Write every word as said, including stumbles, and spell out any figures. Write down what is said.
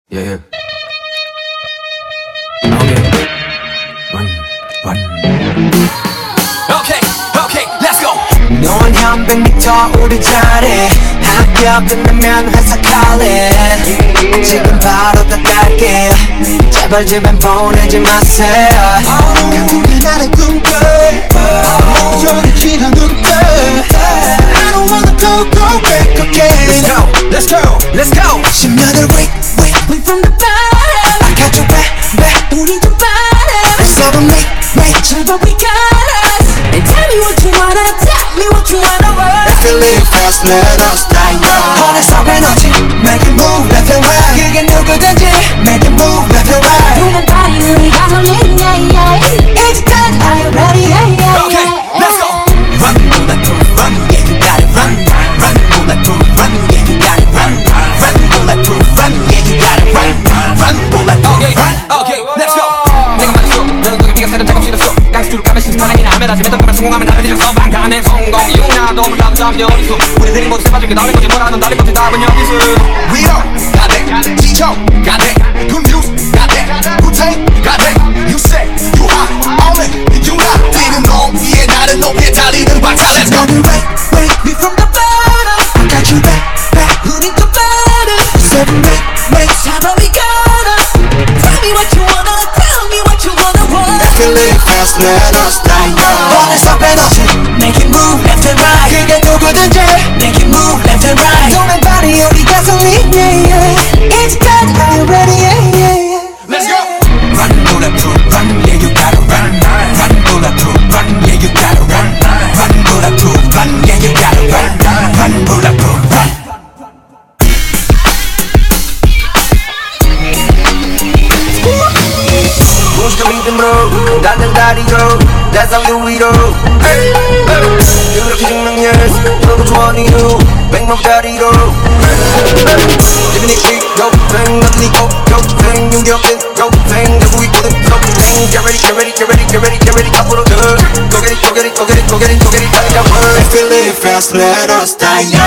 Yeah, yeah. Okay. Run, run. Okay, okay, let's go. 넌 한 백 미터 우리 자리 학교 끝나면 회사 calling 지금 바로 다 갈게 제발 집엔 보내지 마세요 결국엔 나를 꿈꿔 저리 지난 눈빛 I don't wanna go go back again Let's go, let's go, let's go. 십년을 wait wait wait from the bottom I got you back back 우리 좀 bottom Let's go to make make 제발 we got us And tell me what you wanna tell me what you wanna want If you live fast let us die young 어느새 에너지 make it move left and right 그게 누구든지 make it move left and right 눈은 다리 우리 가솔린 yeah yeah 이제까지 are you ready yeah yeah Okay, let's go. Run, bulletproof, run, yeah you got it. Run, run, bulletproof, run, yeah you got it. Run, run, bulletproof, run, yeah you got it. Run, run, bulletproof, Okay, run. okay, let's go. 내가 말했어, 너는 그게 네가 새는 작업 싫었어. 가스투를 까면 신선하긴 하면 다시 뱉던 보면 성공하면 다른 일을 써방 가는 성공 이유나 너무 나도 잠시 어디서 우리들이 모두 세봐준 게 나를 거지 뭐라는 달리 못해 답은 여기서 We don't got that, 지쳐 got that, good news got that, Wu-Tang got that. You say you hot, on it, you not 뛰는 놈 위에 나를 높이 달리는 박사. Let's go. 너는 wait wait me from the bottom I got you back back 우린 좀 bottom Seven make make 잡아 we got us Tell me what you wanna tell me what you wanna want If you live fast let us die young 어느새 에너지 make it move left and right 그게 누구든지 make it move left and right 도는 발이 우리 가솔린 yeah yeah 이제까지 are you ready yeah yeah yeah Let's go. Run, bulletproof, run, yeah you gotta run. Run, bulletproof, run, yeah you gotta run. Run, bulletproof, run, yeah you gotta run. Run, bulletproof, run. 무식한 믿음으로 닿는 다리로 대상 유위로 이렇게 죽는 yes 너도 좋아하는 이유 백만짜리로 Living it big, go bang, nothing go, go bang 윤격은 go bang 내고 있거든 go bang Get ready, get ready, get ready, get ready, get ready 앞으로 더 Go get it, go get it, go get it, go get it, go get it 달리자 If we live fast, let us die young